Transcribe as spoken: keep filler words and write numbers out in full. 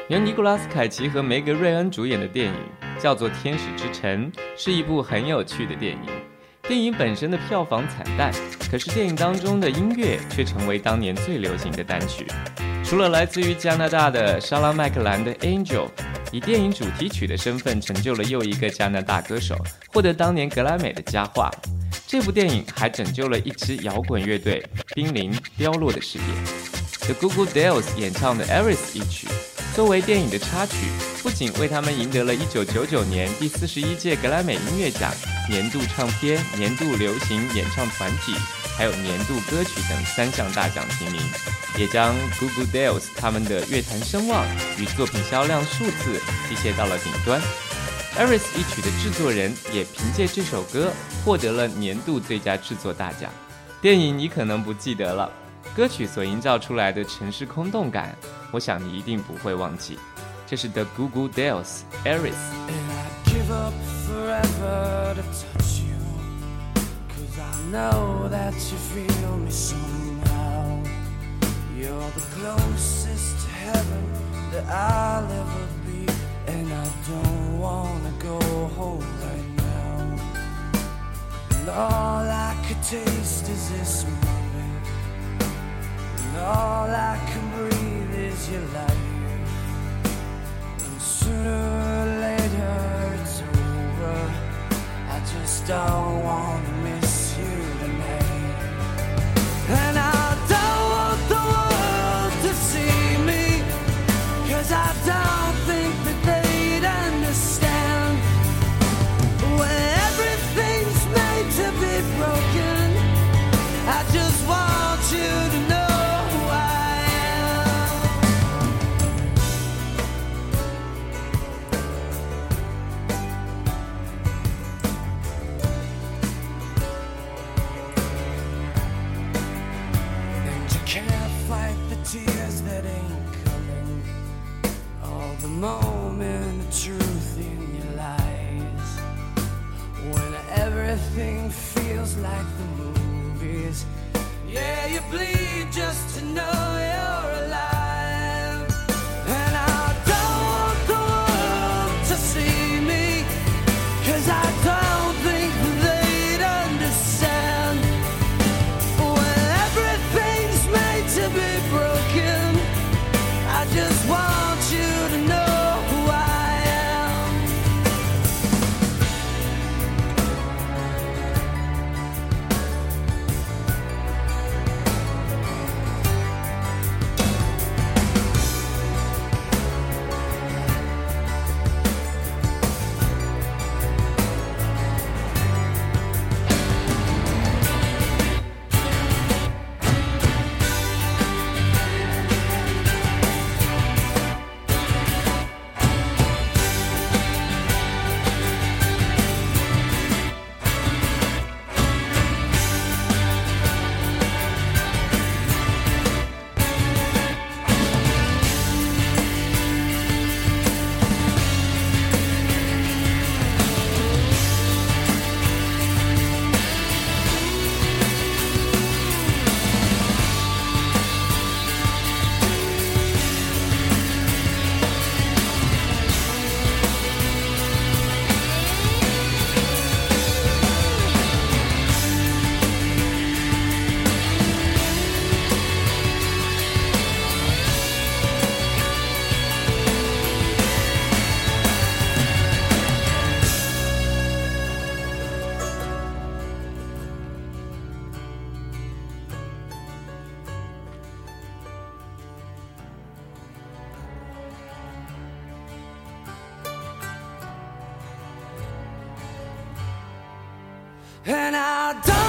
由尼古拉斯凯奇和梅格瑞恩主演的电影叫做《天使之城》，是一部很有趣的电影。电影本身的票房惨淡，可是电影当中的音乐却成为当年最流行的单曲。除了来自于加拿大的莎拉麦克兰的《Angel》，以电影主题曲的身份成就了又一个加拿大歌手，获得当年格莱美的佳话。这部电影还拯救了一支摇滚乐队濒临凋落的事业。The Goo Goo Dolls 演唱的《Iris》一曲，作为电影的插曲，不仅为他们赢得了一九九九年第四十一届格莱美音乐奖年度唱片、年度流行演唱团体，还有年度歌曲等三项大奖提名，也将 Goo Goo Dolls 他们的乐坛声望与作品销量数字提携到了顶端。Iris 一曲的制作人也凭借这首歌获得了年度最佳制作大奖。电影你可能不记得了，歌曲所营造出来的城市空洞感，我想你一定不会忘记。这是 The Goo Goo Dolls Iris。 Give up forever to touch you, 'cause I know that you feel me somehow. You're the closest to heaven that I'll ever be, and I don't wanna go home right now. And all I could taste is this moment, and all I can breathe is your life. And sooner or later it's over, I just don't wanna miss you tonight. And I don't want the world to see me, 'cause I don't think that they'd understand. When everything's made to be broken, I just want you to know who I am. And you can't fight the tears that ain't coming, all the moment of truth in your lies. When everything feels like the movies, yeah, you bleed just to know you're alive. And I don't want the world to see me, 'cause I don't think they'd understand. When everything's made to be broken, I just want you to know who I am. And I don't